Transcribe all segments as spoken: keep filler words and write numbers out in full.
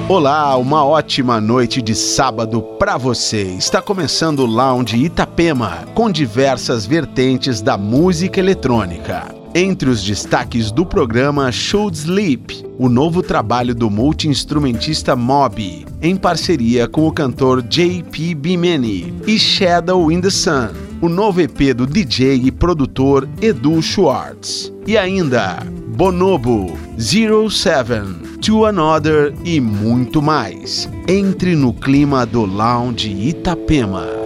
Olá, uma ótima noite de sábado para você. Está começando o Lounge Itapema, com diversas vertentes da música eletrônica. Entre os destaques do programa Should Sleep, o novo trabalho do multi-instrumentista Moby, em parceria com o cantor J P Bimeni, e Shadow in the Sun, o novo E P do D J e produtor Edu Schwartz. E ainda Bonobo, Zero Seven, To Another e muito mais. Entre no clima do Lounge Itapema.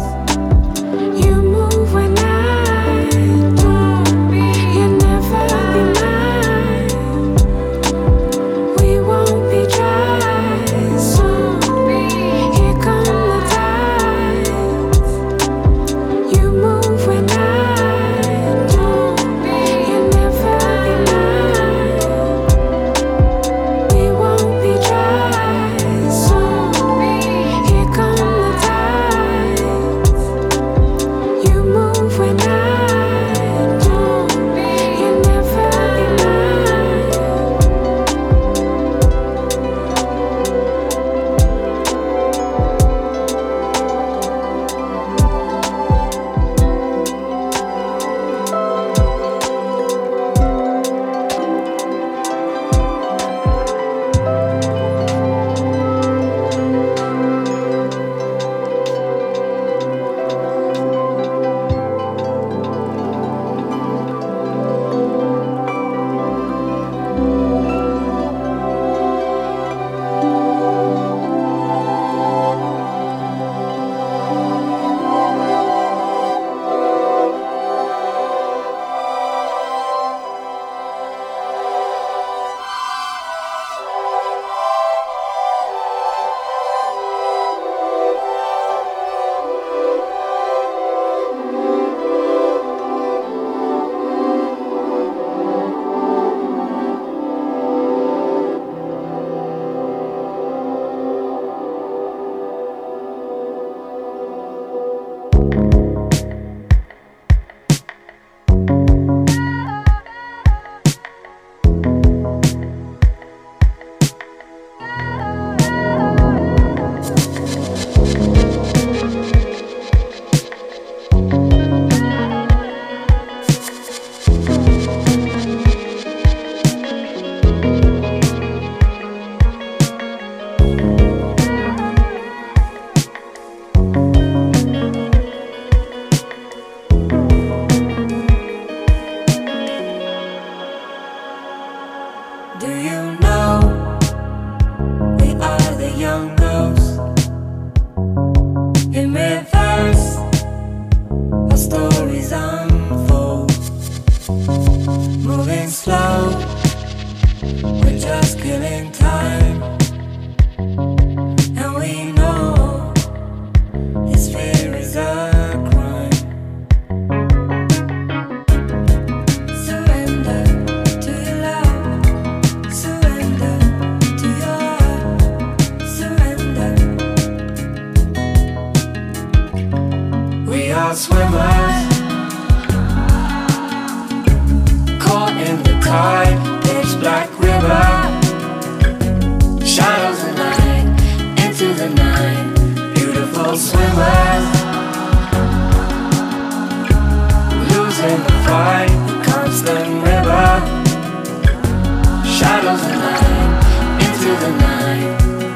You move when I do. You never are swimmers, caught in the tide, pitch black river, shadows of night, into the night, beautiful swimmers, losing the fight, the constant river, shadows of night, into the night.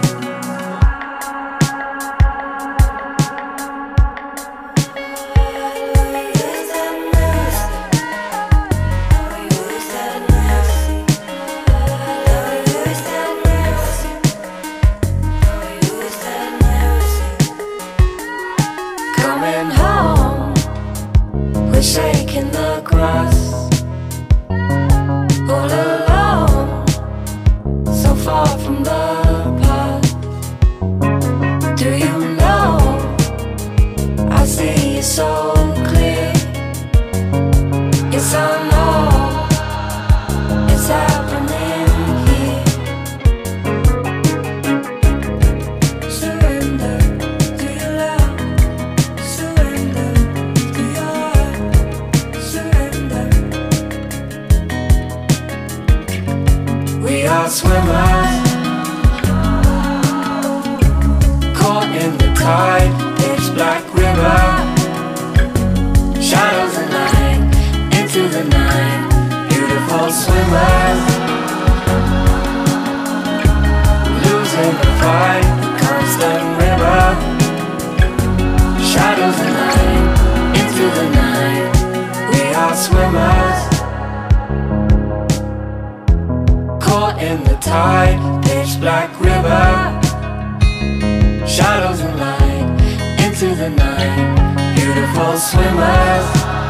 Shaking the grass, all alone, so far from the past. Do you know, I see you so clear. Yes, I know, it's happening here. Surrender to your love, surrender to your heart. We are swimmers, caught in the tide, pitch black river, shadows of night, into the night, beautiful swimmers, losing the fight, the constant river, shadows of night, into the night, we are swimmers, caught in the tide, pitch black river, shadows and light, into the night, beautiful swimmers,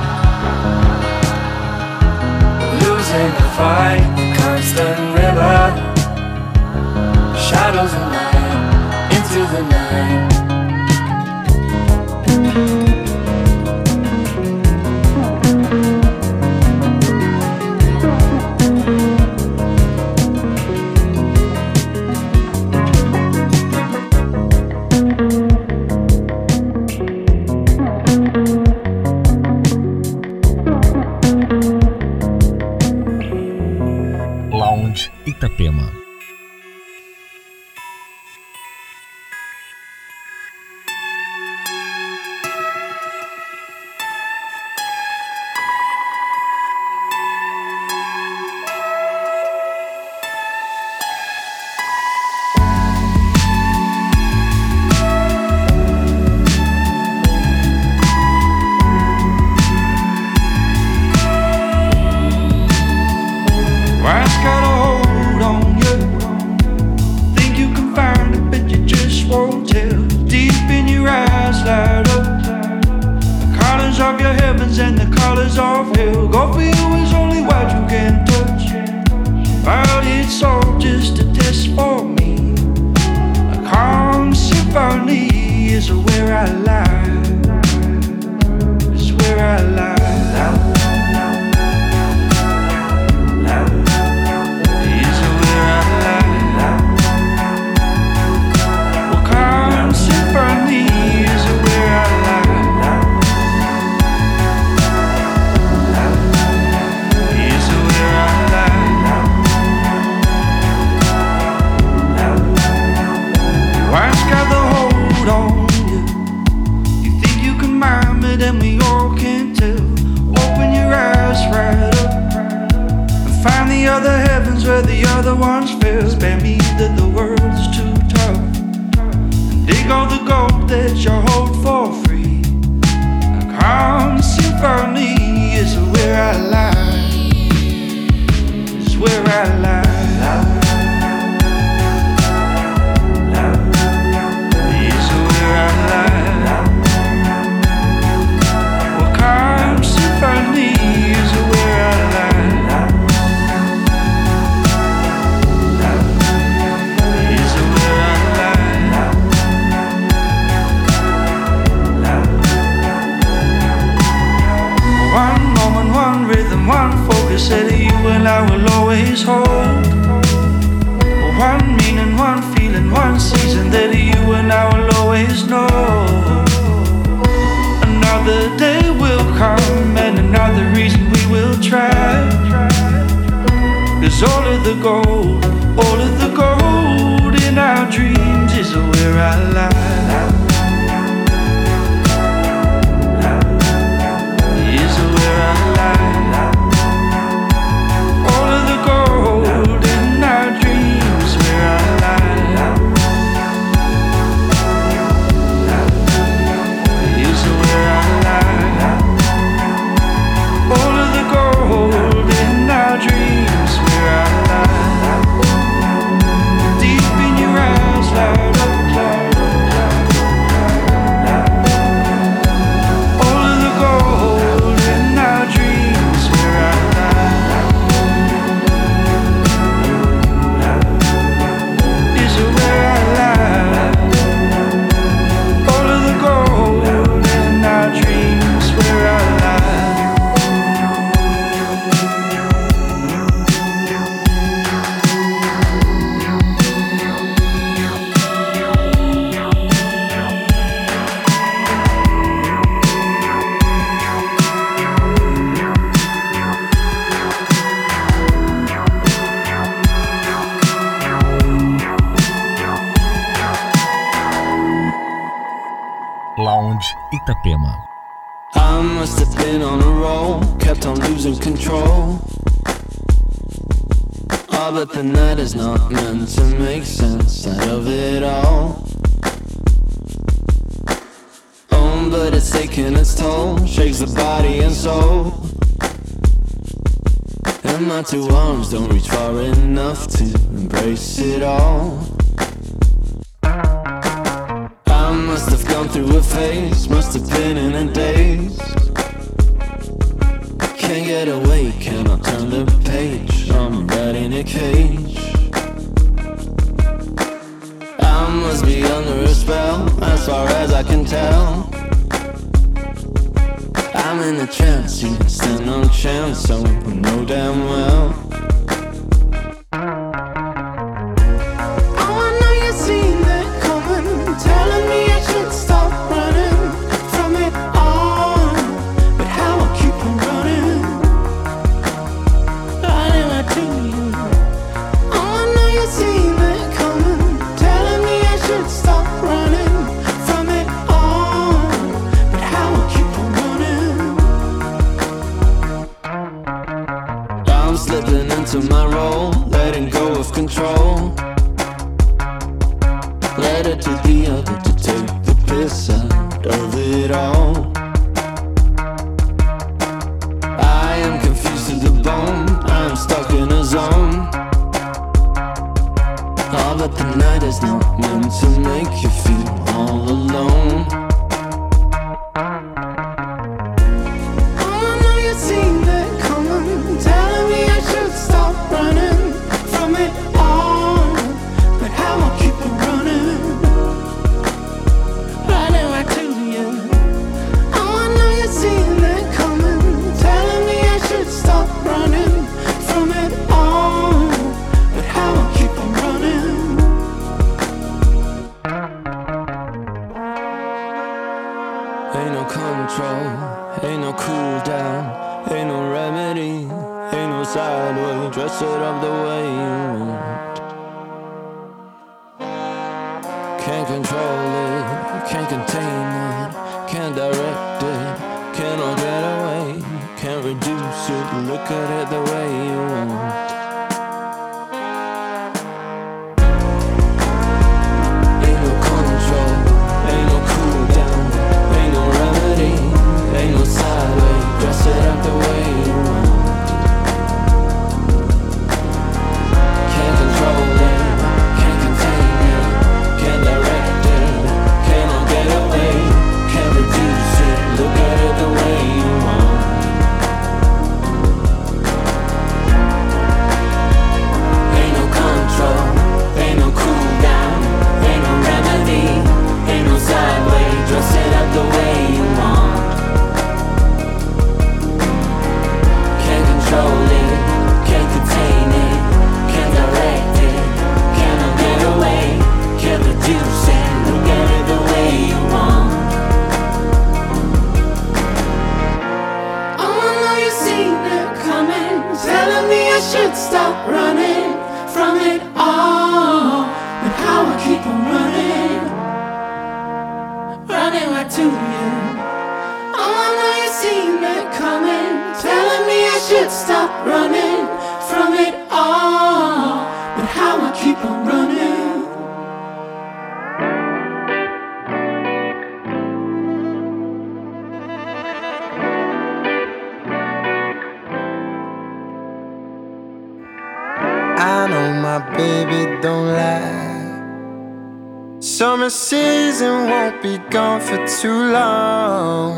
losing the fight, constant river, shadows and light, into the night. Itapema. Said you and I will always hold. I lie. Is where I lie. All of the gold in our dreams, where I lie. Is where I lie. All of the gold in our dreams, where I lie. Deep in your eyes, light up, light up, light up. All of the gold in our dreams, where I lie. Is where I lie. All of the gold in our dreams, where I lie. Lounge Itapema. I must have been on a roll, kept on losing control. Oh, but the night is not meant to make sense out of it all. Oh, but it's taking its toll, shakes the body and soul. And my two arms don't reach far enough to embrace it all. I must have gone through a phase, must have been in a daze. Can't get away, cannot turn the page, I'm right in a cage. I must be under a spell, as far as I can tell. I'm in a trance, you stand no chance, so I know damn well. Slipping into my role, letting go of control. Let it to the other to take the piss out of it all. I am confused to the bone, I'm stuck in a zone. Oh, but the night is not meant to make you feel all alone. Ain't no control, ain't no cool down, ain't no remedy, ain't no sideway, dress it up the way you want. Can't control it, can't contain it, can't direct it, cannot get away, can't reduce it, look at it the way you want. Ain't no control, ain't no cool down, ain't no remedy, ain't no sideway, dress it up the way you want. Can't control it, can't contain it, can't direct it, cannot get away, can't reduce it, look at it the way you want. lie to you. Oh, I know you seen it coming, telling me I should stop running from it all, but how I keep on running. I know my baby don't lie. Summer season won't be gone for too long.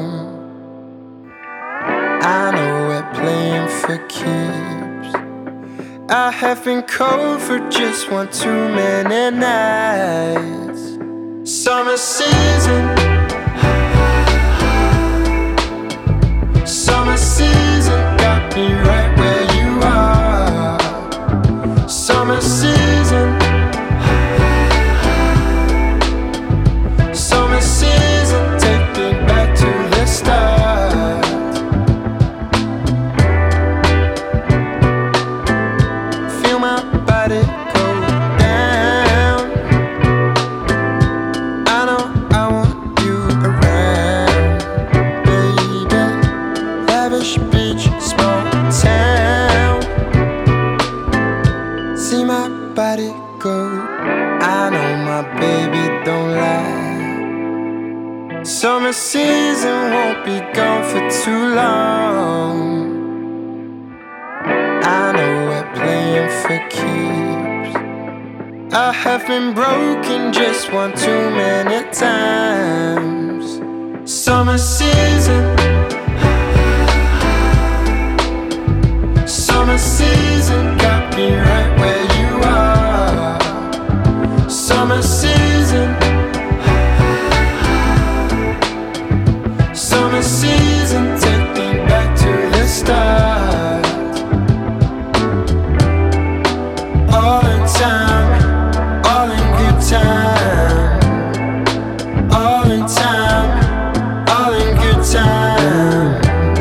I know we're playing for keeps. I have been cold for just one too many nights. Summer season, summer season got me right where you are. Summer season, summer season, take me back to the start. Feel my body go down. I know I want you around, baby. Lavish beach, small town. See my body go. I know my baby don't lie. Summer season won't be gone for too long. I know we're playing for keeps. I have been broken just one too many times. Summer season, summer season got me right where you are. Summer season, summer season, take me back to the start. All in time, all in good time. All in time, all in good time.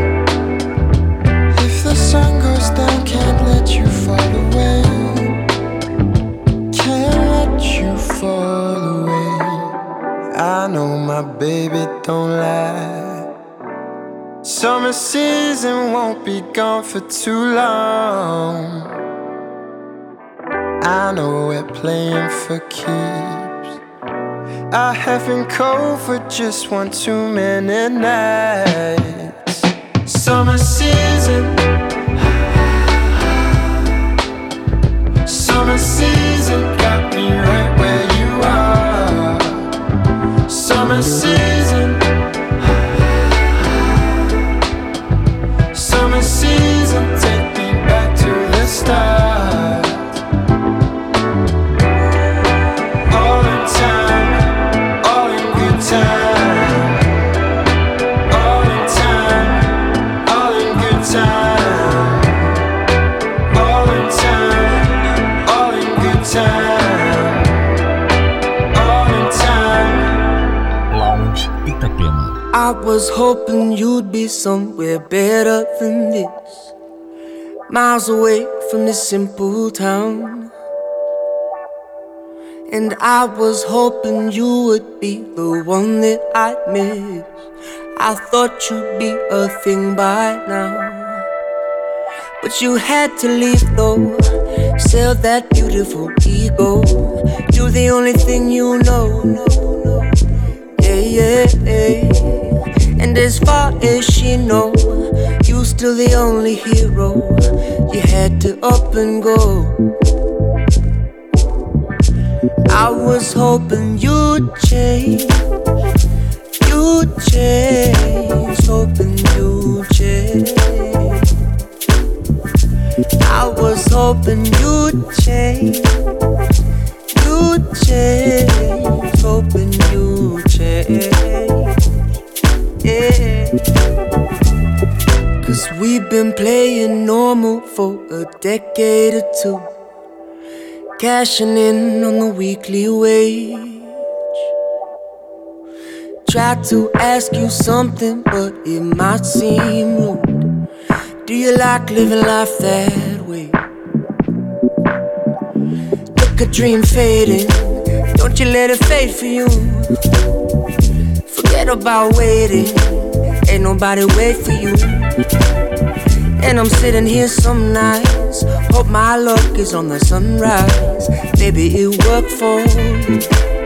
If the sun goes down, can't let you fall away. Can't let you fall away. I know my baby don't lie. Summer season won't be gone for too long. I know we're playing for keeps. I have been cold for just one too many nights. Summer season, summer season got me right where you are. Summer season, summer season, take me back to the start. All in time, all in good time. All in time, all in good time. All in time, all in good time. All in time. Lounge Itapema. I was hoping you'd be somewhere better than this, miles away from this simple town. And I was hoping you would be the one that I'd miss. I thought you'd be a thing by now, but you had to leave though. Sell that beautiful ego. You're the only thing you know. Yeah, yeah, yeah. And as far as she know, you still the only hero. You had to up and go. I was hoping you'd change, you'd change, hoping you'd change. I was hoping you'd change, you'd change, hoping you'd change. Yeah. Cause we've been playing normal for a decade or two, cashing in on the weekly wage. Tried to ask you something, but it might seem rude. Do you like living life that way? Look, a dream fading, don't you let it fade for you. Forget Forget about waiting, ain't nobody wait for you. And I'm sitting here some nights, hope my luck is on the sunrise. Maybe it worked for you.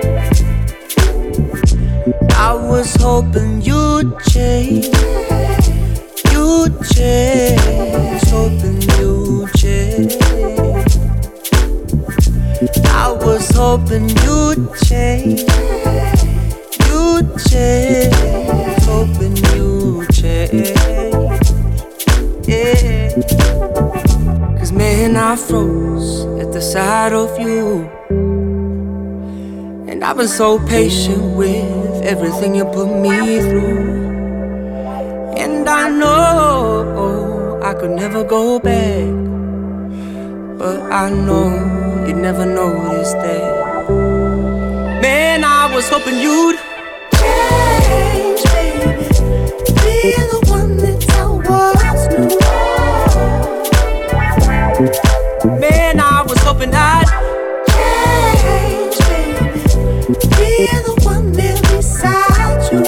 I was hoping you'd change, you'd change, hoping you'd change. I was hoping you'd change, you'd change, hoping you'd change. Yeah. Cause man, I froze at the sight of you. And I've been so patient with everything you put me through. And I know I could never go back, but I know you'd never notice that. Man, I was hoping you'd change, baby, be the one that I was new. Man, I was hoping I'd change, baby, be the one there beside you.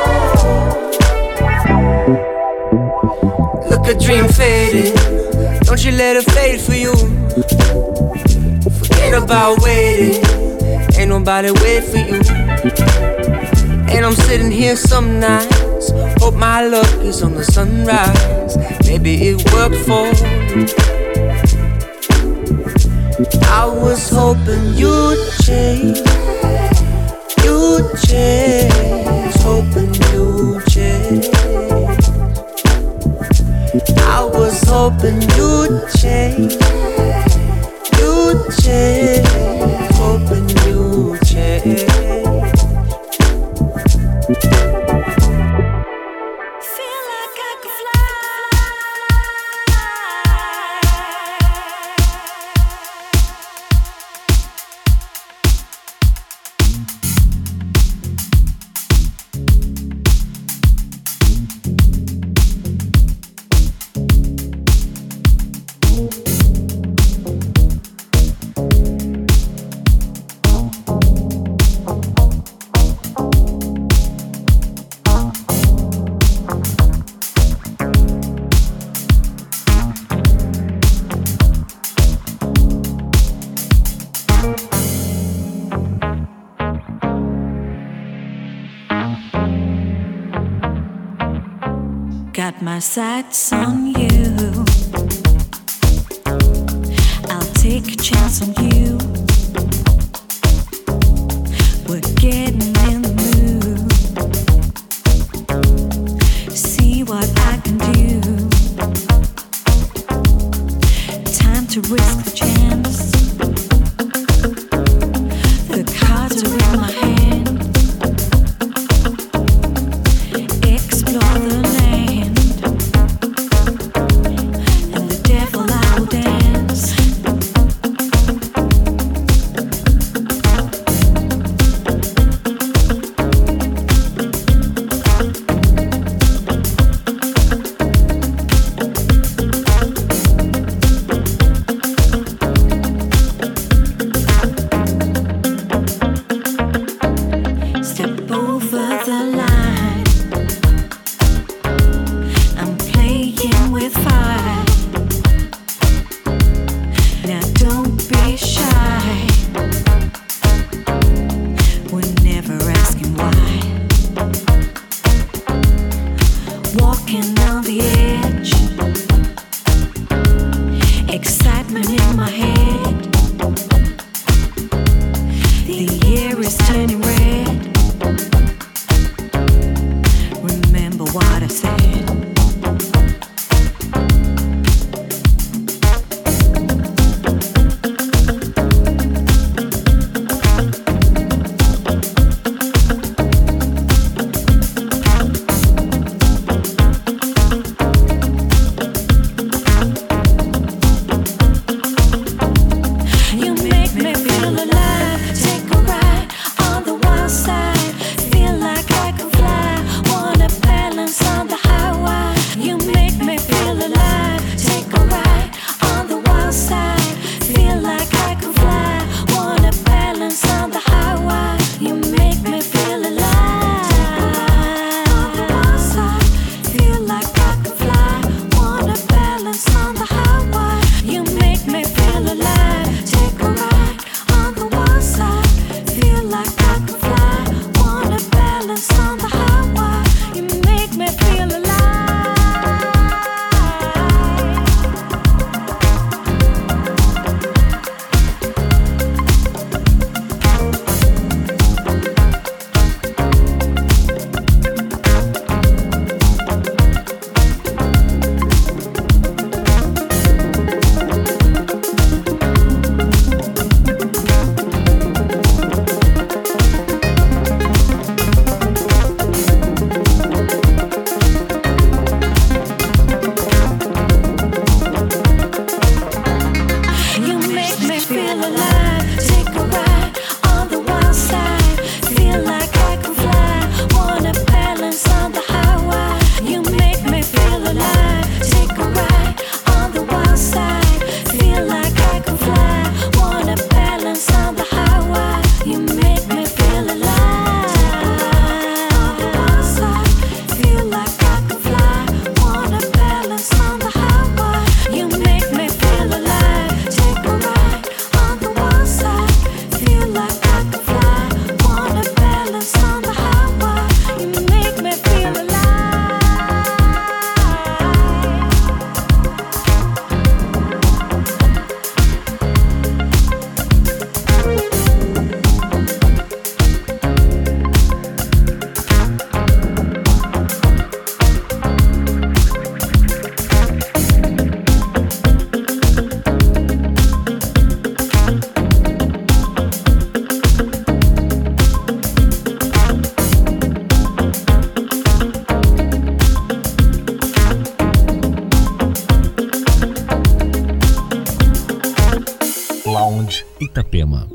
Look, a dream fading, don't you let it fade for you. Forget about waiting, ain't nobody wait for you. And I'm sitting here some nights, hope my luck is on the sunrise. Maybe it worked for you. I was hoping you'd change, you'd change, hoping you'd change. I was hoping you'd change, you'd change, hoping you'd change. Feel like I could fly. Got my sights on you. I'll take a chance on you. We're getting in the mood. See what I can do. Time to risk the chance. The cards are in my hand. Explore the land. And the devil I will dance. Itapema.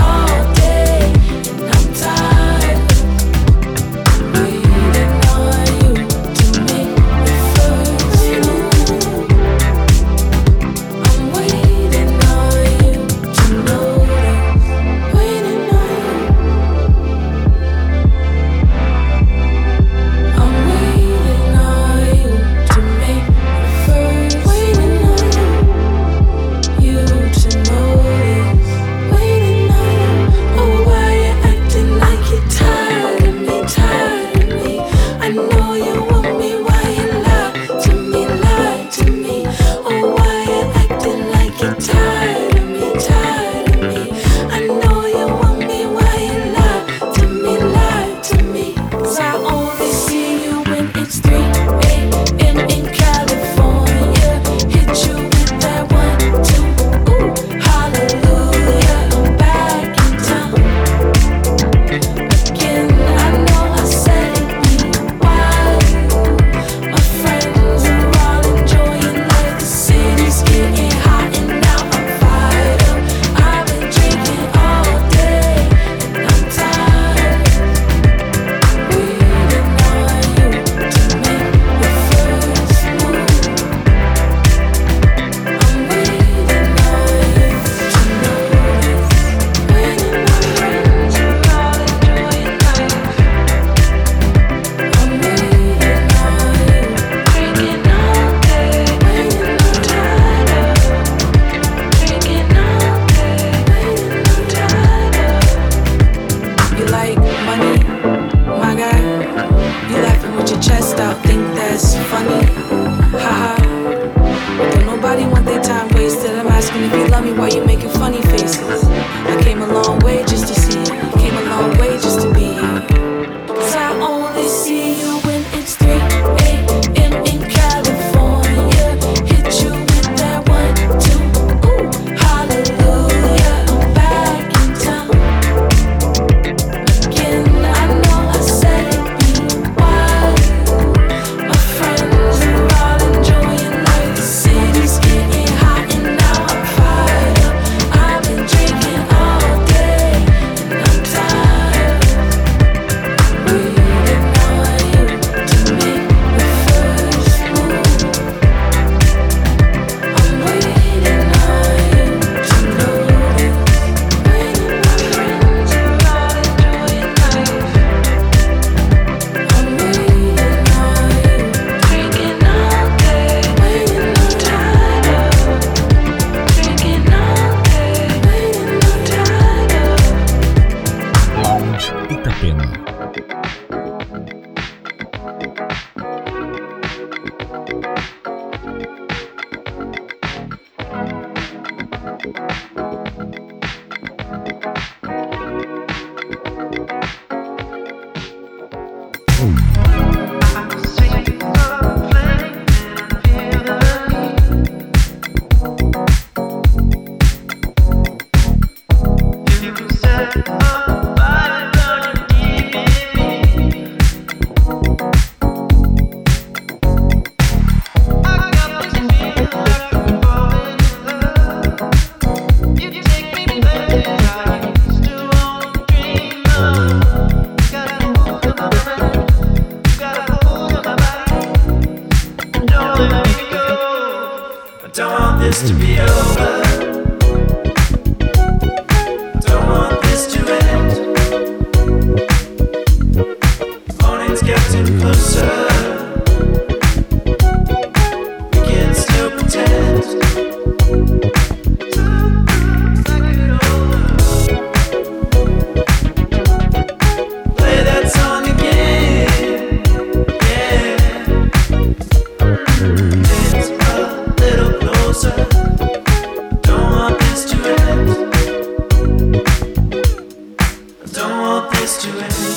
Waiting on asking if you love me while you making funny faces. I came a long way just to see you. Came a long way just to be here. Cause I only see you when it's three a.m. in California. Hit you with that one, two, ooh, hallelujah. I'm back in town again. I know I said it be wild. My friends are all enjoying life. The city's getting hot and now I'm fired up. I've been drinking all day and I'm tired. Waiting on you to make the first move. I'm waiting on you to notice. When my friends are all enjoying life, I'm waiting on you, drinking all day. Waiting, I'm tired of drinking all day. Waiting, I'm tired of. Lounge Itapema. Don't want this to be over. Don't want this to end. Morning's getting closer. We can still pretend. Play that song again. Yeah. It's a little closer. Don't want this to end. Don't want this to end.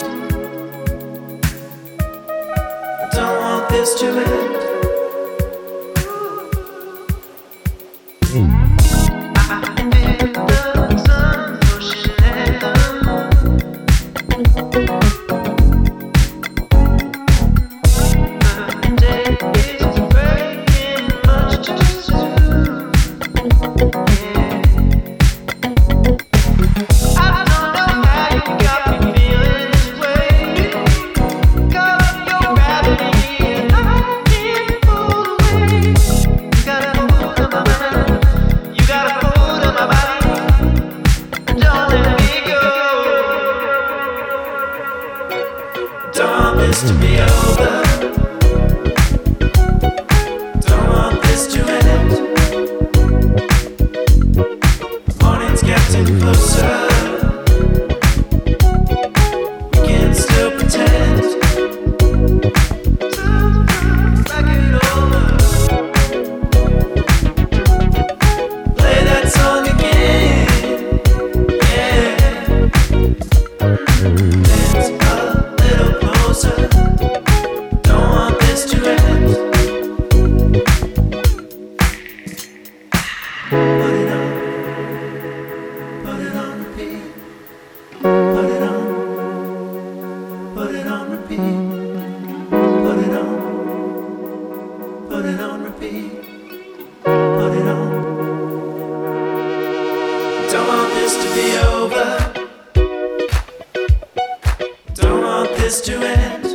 Don't want this to end. To be over. Don't want this to end. Morning's getting closer. We can still pretend. Back it over. Play that song again. Yeah. It's a little closer. Don't want this to end. Put it on. Put it on repeat. Put it on. Put it on repeat. Put it on. Put it on repeat. Put it on. Don't want this to be over. Don't want this to end.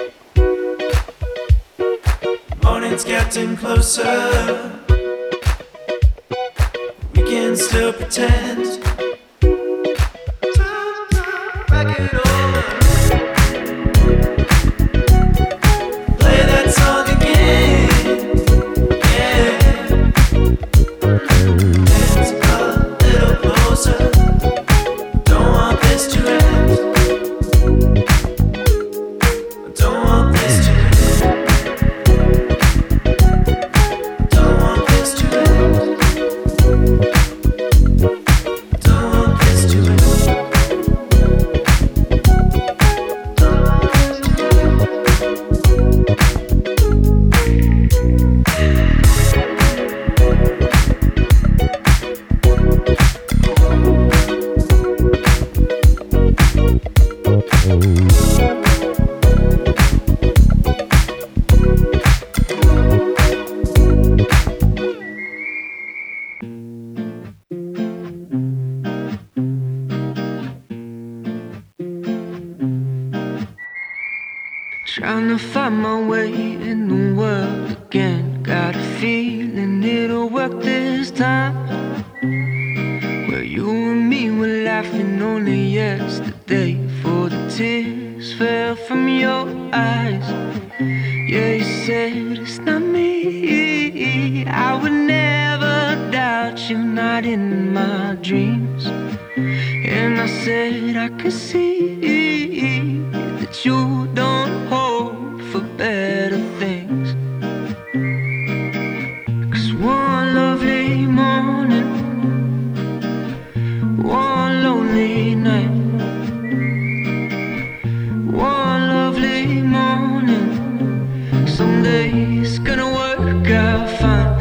Morning's getting closer. We can still pretend. Back it over. Play that song again. Yeah. It's a little closer. Don't want this to end. Don't want this to end. Don't want this to end. Trying to find my way in the world again. Got a feeling it'll work this time. Where you and me were laughing only yesterday, for the tears fell from your eyes. Yeah, you said it's not me. I would never doubt you, not in my dreams. And I said I could see that you don't hope for better things. 'Cause one lovely morning, one lonely night, one lovely morning, someday it's gonna work out fine.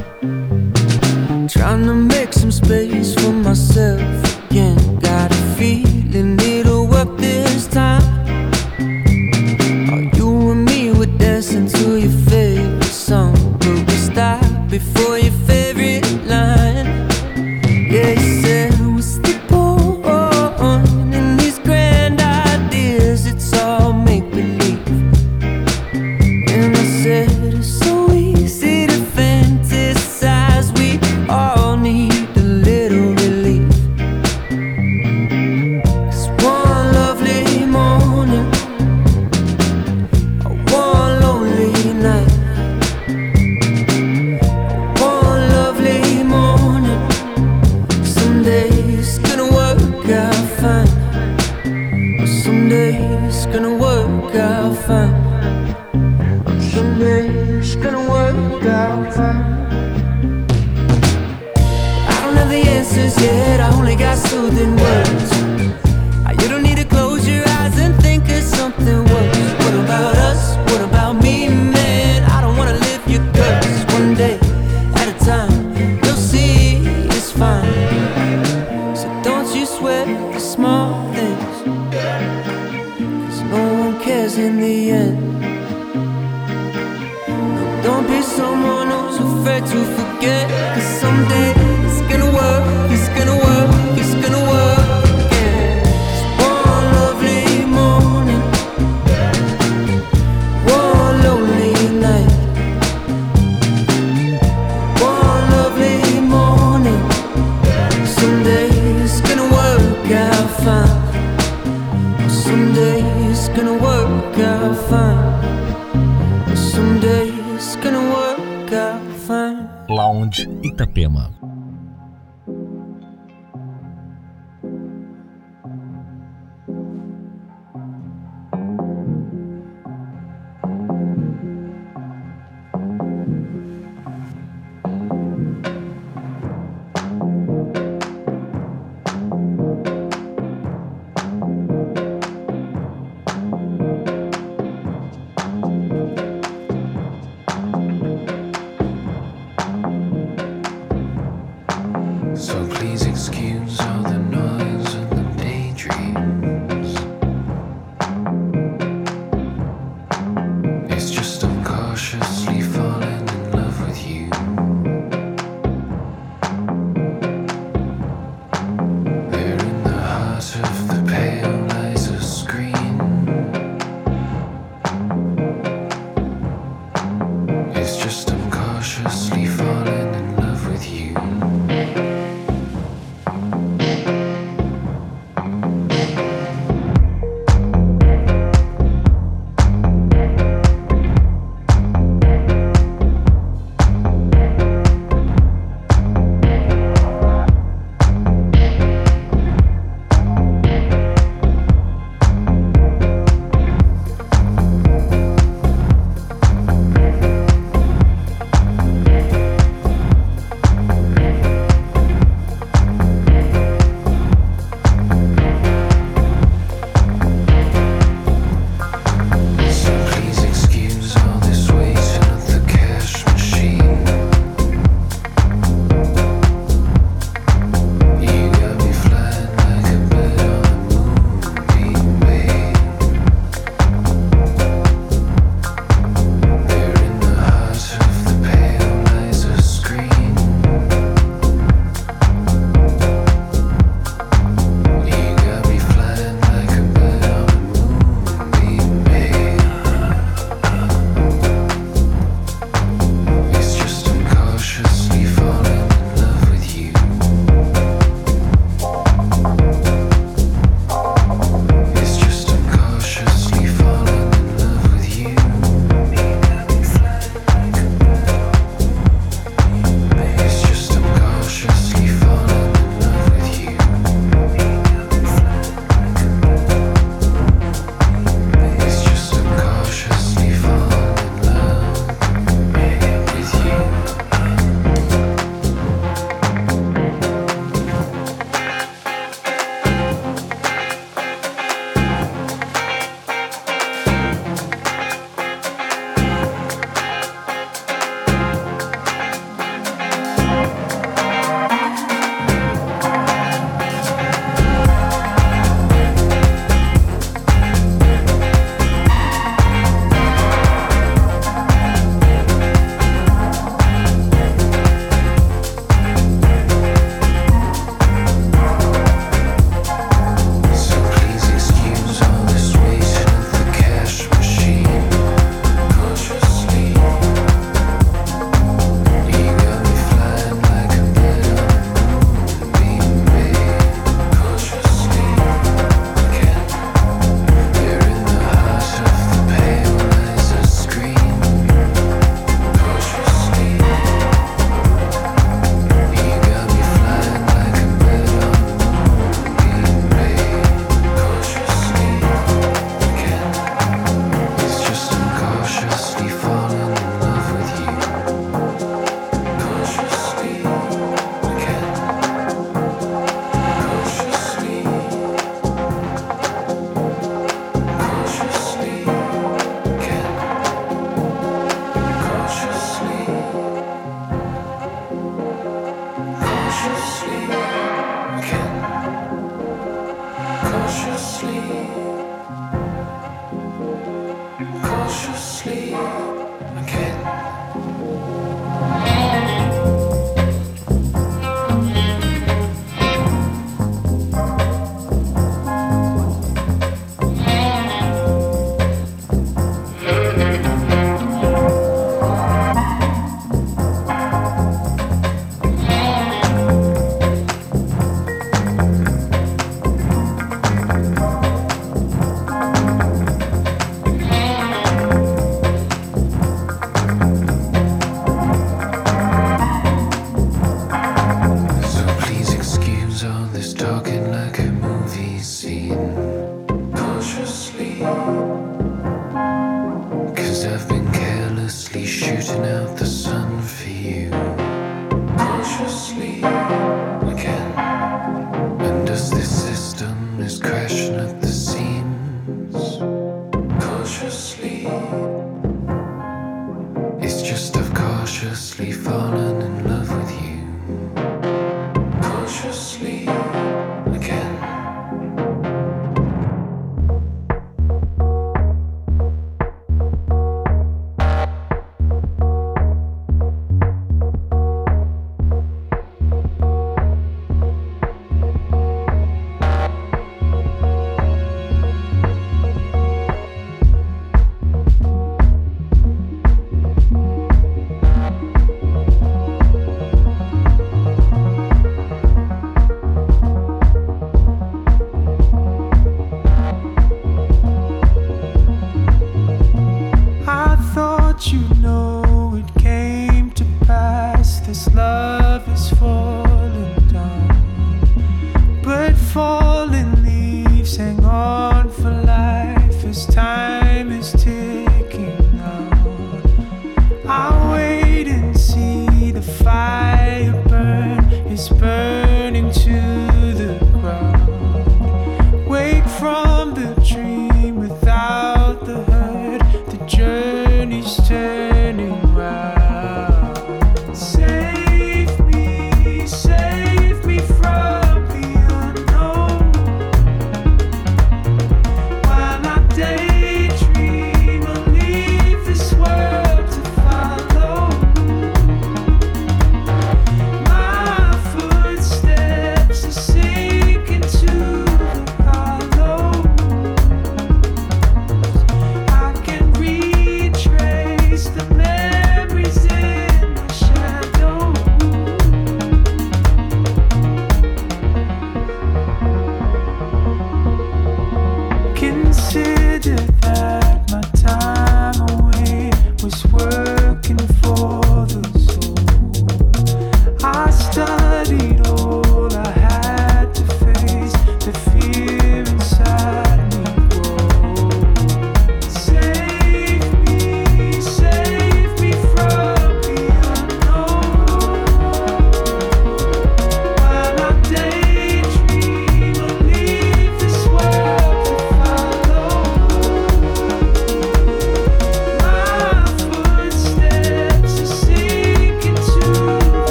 Trying to make some space for myself again. Got a feeling it'll work this time. Oh, you and me were dancing to your favorite song, but we stopped before your favorite line. Yeah, you said, what's the point in these grand ideas? It's all make-believe. And I said, it's so easy to fantasize. We all need a little relief. 'Cause one lovely morning, one lonely night, one lovely morning, someday it's gonna work out fine. Someday it's gonna work out fine. Someday it's gonna work out fine. I don't have the answers yet, I only got soothing words. You don't need to close your eyes and think of something worse. What about us? What about me, man? I don't wanna live your curse. One day at a time, you'll see it's fine. So don't you sweat the small things, 'cause no one cares in the end. Don't be someone who's afraid to forget, 'cause someday it's gonna work, it's gonna work, it's gonna work again. 'Cause one lovely morning, one lonely night, one lovely morning, someday it's gonna work out fine. Someday it's gonna work out fine. Someday it's gonna work out fine. Lounge Itapema. Cautiously falling in love with you.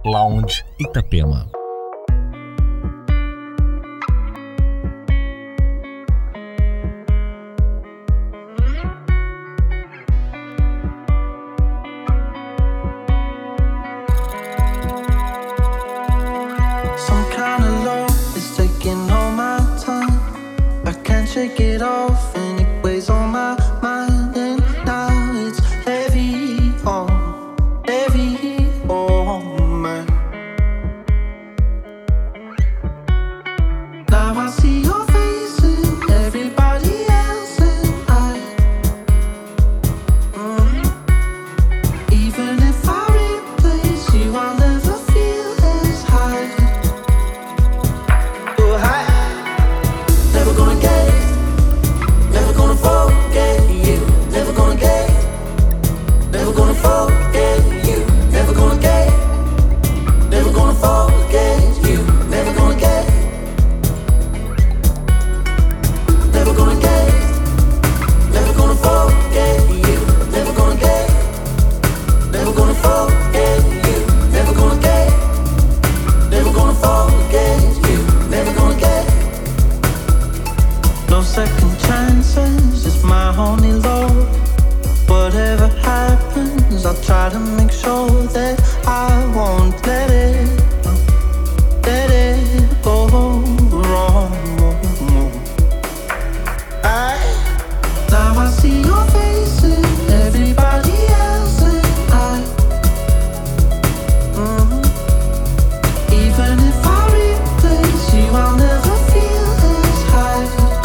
Lounge Itapema. Some kind of love is taking all my time. I can't shake it off and it weighs on my mind. And now it's heavy on, heavy on me. Now I see your face and everybody else, and I mm, even if I replace you, I'll never feel as high. Oh, high. Never gonna get it, never gonna forget you, never gonna get it, never gonna forget you, never gonna get it, never gonna forget you, never gonna get it, never gonna get it, never gonna forget you, never gonna get it, never gonna forget you, never gonna get it, never gonna forget you, never gonna get it. No second chances, it's my only love. Whatever happens, I'll try to make sure that I won't let it, let it go wrong. I, now I see your face and everybody else, and I, mm, even if I replace you, I'll never feel as high.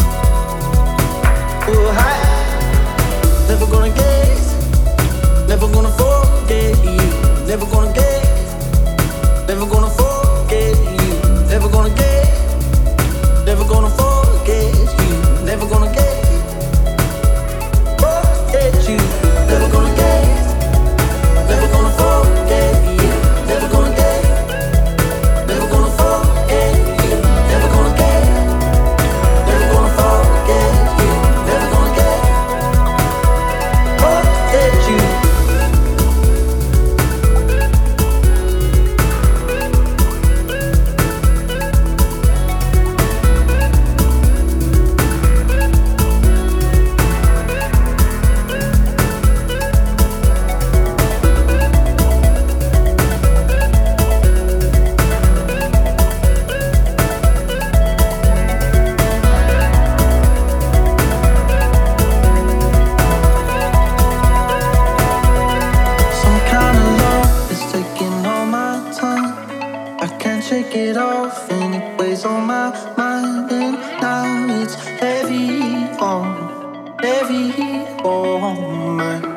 Oh, high. Never gonna get it, never gonna forget you, never gonna get it, never gonna forget you, never gonna get it, never gonna forget you, never gonna get it, forget you, never gonna get it, never gonna forget you, never gonna get it, never gonna forget you, never gonna get it, never gonna forget you, never gonna get it. Forget you. Some kind of love is taking all my time. I can't shake it off and it weighs on my mind. And now it's heavy on, heavy on me.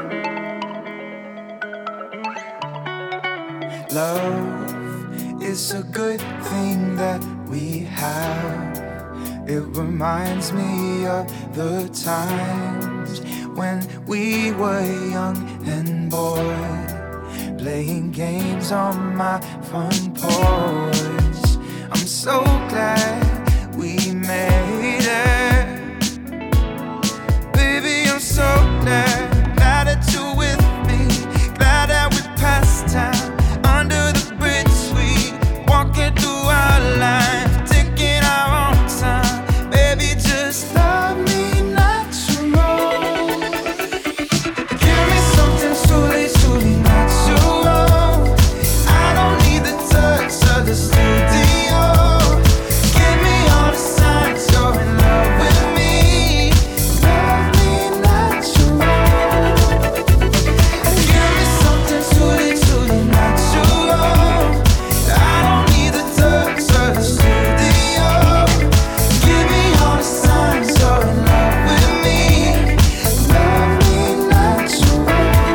Love is a good thing that we have. It reminds me of the times when we were young and bored, playing games on my front porch. I'm so glad we made it. Baby, I'm so glad, glad that you're with me, glad that we passed time under the bridge, we walking through our life, taking our own time. Baby, just love me natural. Give me something truly, truly natural. I don't need the touch of the studio. Give me all the signs you're in love with me. Love me natural. Give me something truly, truly natural. I don't need the touch of the studio. Give me all the signs you're in love with me. Love me natural.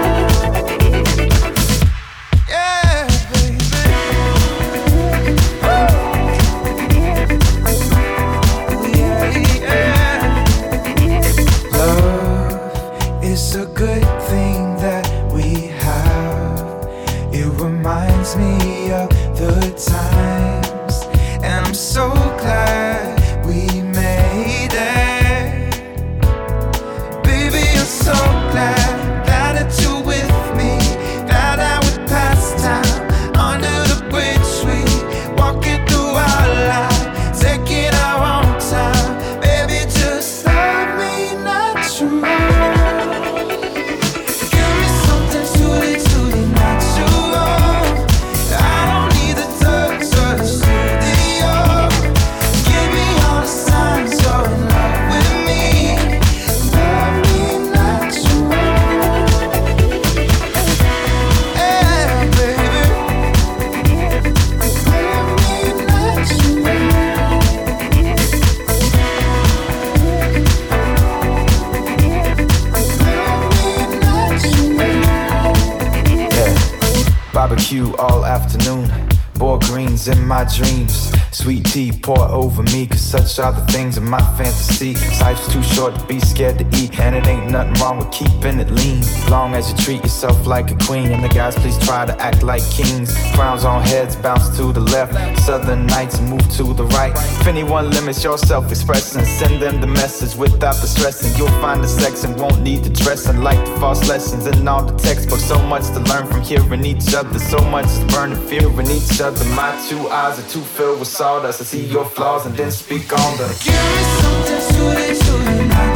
Yeah, baby. Yeah, yeah. Love is a good thing that we have. It reminds me of the times, and I'm so glad we made it. Baby, I'm so glad, glad that you're with me, glad that we passed time under the bridge. you all afternoon. Boiled greens in my dreams. Sweet tea pour over me, cause such are the things in my fantasy. Life's too short to be scared to eat, and it ain't nothing wrong with keeping it lean. Long as you treat yourself like a queen, and the guys please try to act like kings. Crowns on heads bounce to the left, southern nights move to the right. If anyone limits your self-expression, send them the message without the stressing. You'll find the sex and won't need the dressing, like the false lessons in all the textbooks. So much to learn from hearing each other, so much is burning fear in each other. My two eyes are too filled with sawdust. I see your flaws and then speak on them. Give me something sweet, sweet.